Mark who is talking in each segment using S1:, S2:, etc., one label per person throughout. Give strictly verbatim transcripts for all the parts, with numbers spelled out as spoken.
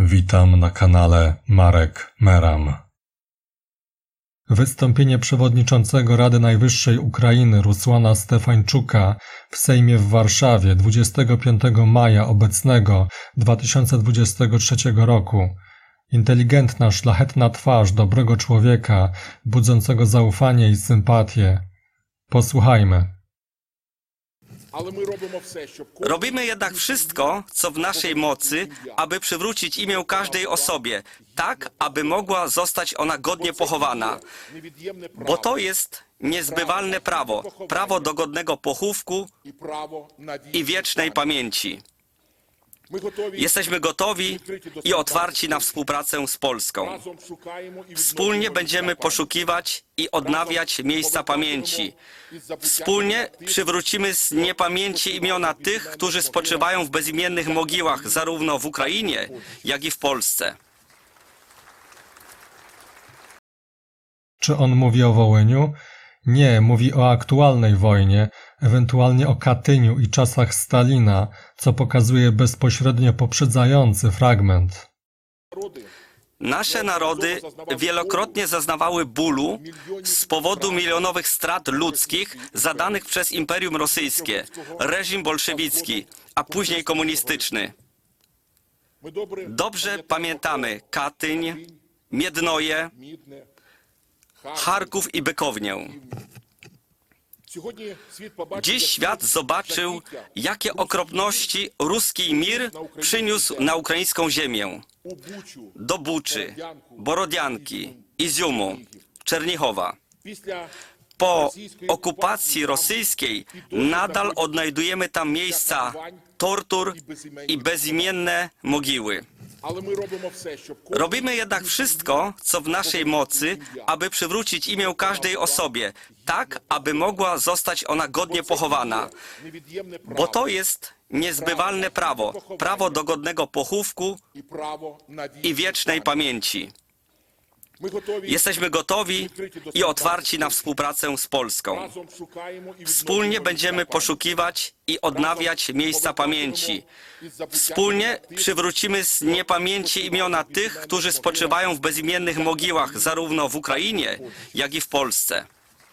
S1: Witam na kanale Marek Meram. Wystąpienie przewodniczącego Rady Najwyższej Ukrainy Rusłana Stefańczuka w Sejmie w Warszawie dwudziestego piątego maja obecnego dwa tysiące dwudziestego trzeciego roku. Inteligentna, szlachetna twarz dobrego człowieka, budzącego zaufanie i sympatię. Posłuchajmy.
S2: Robimy jednak wszystko, co w naszej mocy, aby przywrócić imię każdej osobie, tak, aby mogła zostać ona godnie pochowana. Bo to jest niezbywalne prawo, prawo do godnego pochówku i wiecznej pamięci. Jesteśmy gotowi i otwarci na współpracę z Polską. Wspólnie będziemy poszukiwać i odnawiać miejsca pamięci. Wspólnie przywrócimy z niepamięci imiona tych, którzy spoczywają w bezimiennych mogiłach, zarówno w Ukrainie, jak i w Polsce.
S1: Czy on mówi o Wołyniu? Nie, mówi o aktualnej wojnie, ewentualnie o Katyniu i czasach Stalina, co pokazuje bezpośrednio poprzedzający fragment.
S2: Nasze narody wielokrotnie zaznawały bólu z powodu milionowych strat ludzkich zadanych przez Imperium Rosyjskie, reżim bolszewicki, a później komunistyczny. Dobrze pamiętamy Katyń, Miednoje, Charków i Bykownię. Dziś świat zobaczył, jakie okropności ruski mir przyniósł na ukraińską ziemię. Do Buczy, Borodianki, Iziumu, Czernichowa. Po okupacji rosyjskiej nadal odnajdujemy tam miejsca tortur i bezimienne mogiły. Robimy jednak wszystko, co w naszej mocy, aby przywrócić imię każdej osobie, tak, aby mogła zostać ona godnie pochowana. Bo to jest niezbywalne prawo, prawo do godnego pochówku i wiecznej pamięci. Jesteśmy gotowi i otwarci na współpracę z Polską. Wspólnie będziemy poszukiwać i odnawiać miejsca pamięci. Wspólnie przywrócimy z niepamięci imiona tych, którzy spoczywają w bezimiennych mogiłach, zarówno w Ukrainie, jak i w Polsce.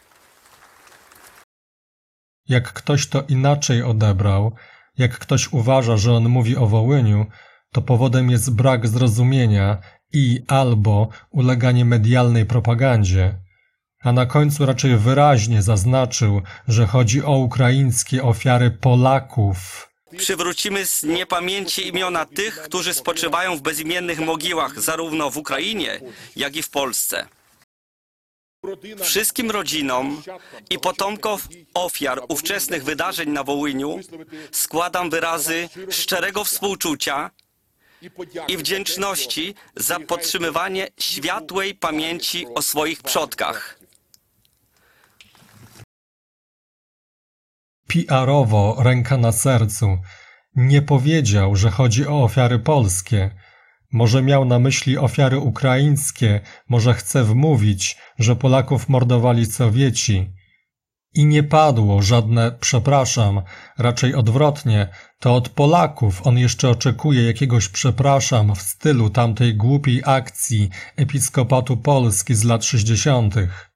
S1: Jak ktoś to inaczej odebrał, jak ktoś uważa, że on mówi o Wołyniu, to powodem jest brak zrozumienia i albo uleganie medialnej propagandzie, a na końcu raczej wyraźnie zaznaczył, że chodzi o ukraińskie ofiary Polaków.
S2: Przywrócimy z niepamięci imiona tych, którzy spoczywają w bezimiennych mogiłach, zarówno w Ukrainie, jak i w Polsce. Wszystkim rodzinom i potomkom ofiar ówczesnych wydarzeń na Wołyniu składam wyrazy szczerego współczucia i wdzięczności za podtrzymywanie światłej pamięci o swoich przodkach.
S1: P R owo, ręka na sercu, nie powiedział, że chodzi o ofiary polskie. Może miał na myśli ofiary ukraińskie, może chce wmówić, że Polaków mordowali Sowieci. I nie padło żadne przepraszam, raczej odwrotnie, to od Polaków on jeszcze oczekuje jakiegoś przepraszam w stylu tamtej głupiej akcji Episkopatu Polski z lat sześćdziesiątych.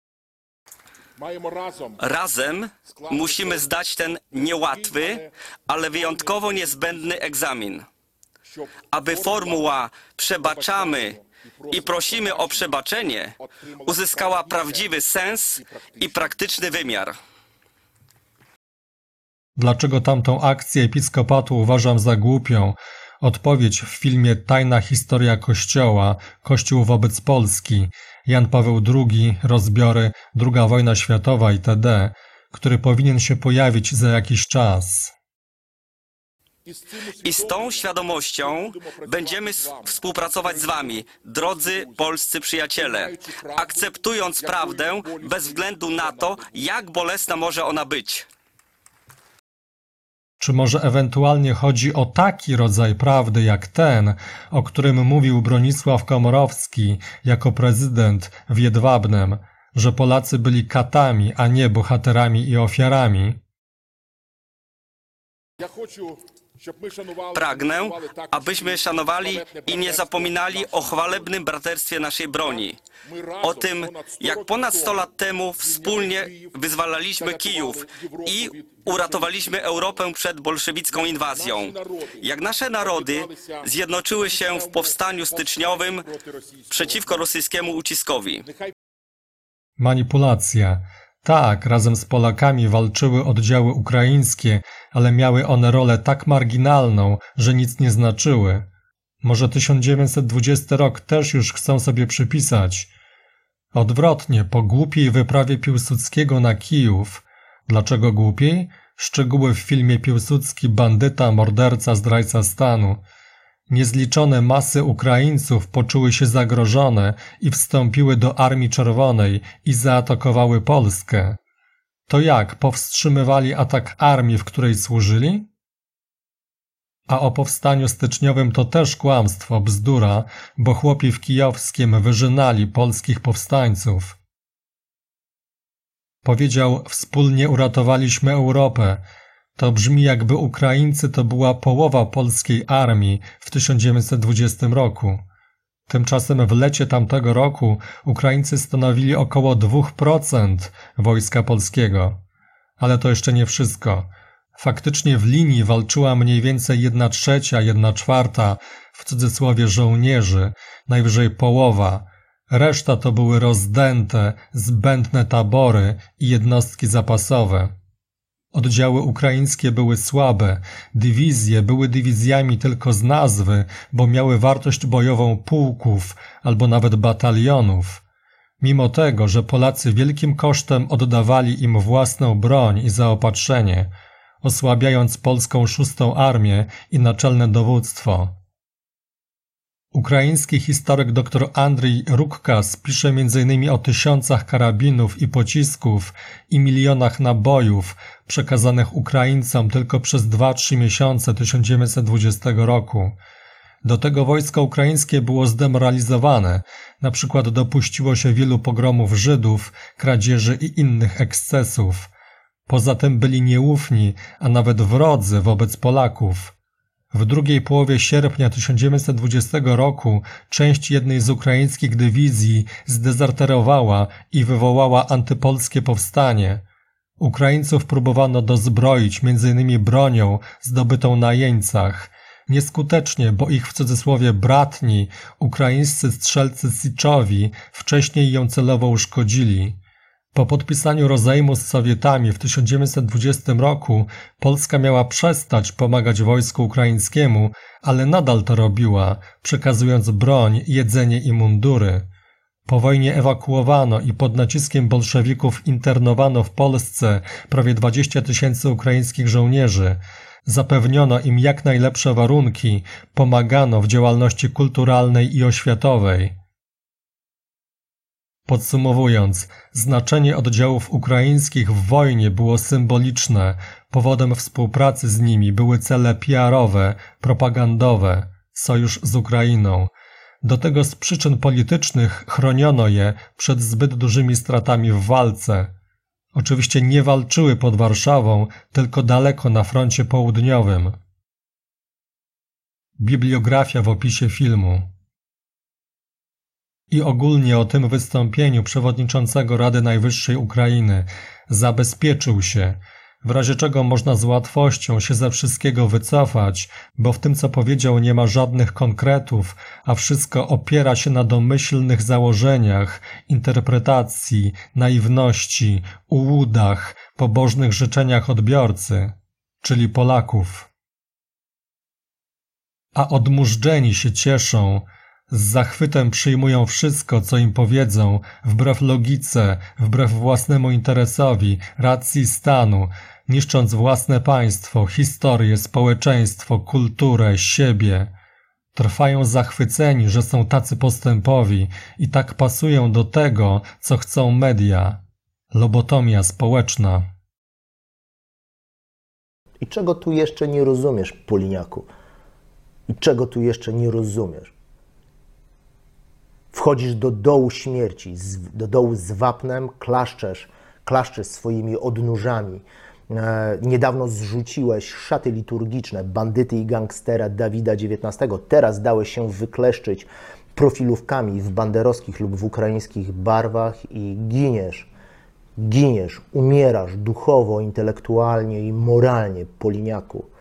S2: Razem musimy zdać ten niełatwy, ale wyjątkowo niezbędny egzamin, aby formuła przebaczamy i prosimy o przebaczenie uzyskała prawdziwy sens i praktyczny wymiar.
S1: Dlaczego tamtą akcję Episkopatu uważam za głupią? Odpowiedź w filmie Tajna historia Kościoła, Kościół wobec Polski, Jan Paweł drugi, rozbiory, druga wojna światowa itd., który powinien się pojawić za jakiś czas.
S2: I z tą świadomością będziemy współpracować z wami, drodzy polscy przyjaciele, akceptując prawdę bez względu na to, jak bolesna może ona być.
S1: Czy może ewentualnie chodzi o taki rodzaj prawdy jak ten, o którym mówił Bronisław Komorowski jako prezydent w Jedwabnem, że Polacy byli katami, a nie bohaterami i ofiarami?
S2: Pragnę, abyśmy szanowali i nie zapominali o chwalebnym braterstwie naszej broni. O tym, jak ponad sto lat temu wspólnie wyzwalaliśmy Kijów i uratowaliśmy Europę przed bolszewicką inwazją. Jak nasze narody zjednoczyły się w powstaniu styczniowym przeciwko rosyjskiemu uciskowi.
S1: Manipulacja. Tak, razem z Polakami walczyły oddziały ukraińskie, ale miały one rolę tak marginalną, że nic nie znaczyły. Może tysiąc dziewięćset dwudziesty rok też już chcą sobie przypisać. Odwrotnie, po głupiej wyprawie Piłsudskiego na Kijów. Dlaczego głupiej? Szczegóły w filmie Piłsudski bandyta, morderca, zdrajca stanu. Niezliczone masy Ukraińców poczuły się zagrożone i wstąpiły do Armii Czerwonej i zaatakowały Polskę. To jak, powstrzymywali atak armii, w której służyli? A o powstaniu styczniowym to też kłamstwo, bzdura, bo chłopi w Kijowskiem wyżynali polskich powstańców. Powiedział, wspólnie uratowaliśmy Europę. To brzmi, jakby Ukraińcy to była połowa polskiej armii w tysiąc dziewięćset dwudziestym roku. Tymczasem w lecie tamtego roku Ukraińcy stanowili około dwa procent wojska polskiego. Ale to jeszcze nie wszystko. Faktycznie w linii walczyła mniej więcej jedna trzecia, jedna czwarta, w cudzysłowie żołnierzy, najwyżej połowa. Reszta to były rozdęte, zbędne tabory i jednostki zapasowe. Oddziały ukraińskie były słabe, dywizje były dywizjami tylko z nazwy, bo miały wartość bojową pułków albo nawet batalionów. Mimo tego, że Polacy wielkim kosztem oddawali im własną broń i zaopatrzenie, osłabiając polską szóstą armię i naczelne dowództwo. Ukraiński historyk dr Andrzej Rukkas pisze między innymi o tysiącach karabinów i pocisków i milionach nabojów przekazanych Ukraińcom tylko przez dwa trzy miesiące tysiąc dziewięćset dwudziestego roku. Do tego wojsko ukraińskie było zdemoralizowane, na przykład dopuściło się wielu pogromów Żydów, kradzieży i innych ekscesów. Poza tym byli nieufni, a nawet wrodzy wobec Polaków. W drugiej połowie sierpnia tysiąc dziewięćset dwudziestego roku część jednej z ukraińskich dywizji zdezerterowała i wywołała antypolskie powstanie. Ukraińców próbowano dozbroić między innymi bronią zdobytą na jeńcach. Nieskutecznie, bo ich w cudzysłowie bratni, ukraińscy strzelcy Siczowi wcześniej ją celowo uszkodzili. Po podpisaniu rozejmu z Sowietami w tysiąc dziewięćset dwudziestym roku Polska miała przestać pomagać wojsku ukraińskiemu, ale nadal to robiła, przekazując broń, jedzenie i mundury. Po wojnie ewakuowano i pod naciskiem bolszewików internowano w Polsce prawie dwadzieścia tysięcy ukraińskich żołnierzy. Zapewniono im jak najlepsze warunki, pomagano w działalności kulturalnej i oświatowej. Podsumowując, znaczenie oddziałów ukraińskich w wojnie było symboliczne, powodem współpracy z nimi były cele P R owe, propagandowe, sojusz z Ukrainą. Do tego z przyczyn politycznych chroniono je przed zbyt dużymi stratami w walce. Oczywiście nie walczyły pod Warszawą, tylko daleko na froncie południowym. Bibliografia w opisie filmu. I ogólnie o tym wystąpieniu przewodniczącego Rady Najwyższej Ukrainy zabezpieczył się, w razie czego można z łatwością się ze wszystkiego wycofać, bo w tym, co powiedział, nie ma żadnych konkretów, a wszystko opiera się na domyślnych założeniach, interpretacji, naiwności, ułudach, pobożnych życzeniach odbiorcy, czyli Polaków. A odmurzdzeni się cieszą, z zachwytem przyjmują wszystko, co im powiedzą, wbrew logice, wbrew własnemu interesowi, racji stanu, niszcząc własne państwo, historię, społeczeństwo, kulturę, siebie. Trwają zachwyceni, że są tacy postępowi i tak pasują do tego, co chcą media. Lobotomia społeczna.
S3: I czego tu jeszcze nie rozumiesz, Poliniaku? I czego tu jeszcze nie rozumiesz? Wchodzisz do dołu śmierci, do dołu z wapnem, klaszczesz, klaszczesz swoimi odnóżami, E, niedawno zrzuciłeś szaty liturgiczne bandyty i gangstera Dawida dziewiętnastego. Teraz dałeś się wykleszczyć profilówkami w banderowskich lub w ukraińskich barwach i giniesz. Giniesz, umierasz duchowo, intelektualnie i moralnie, Poliniaku.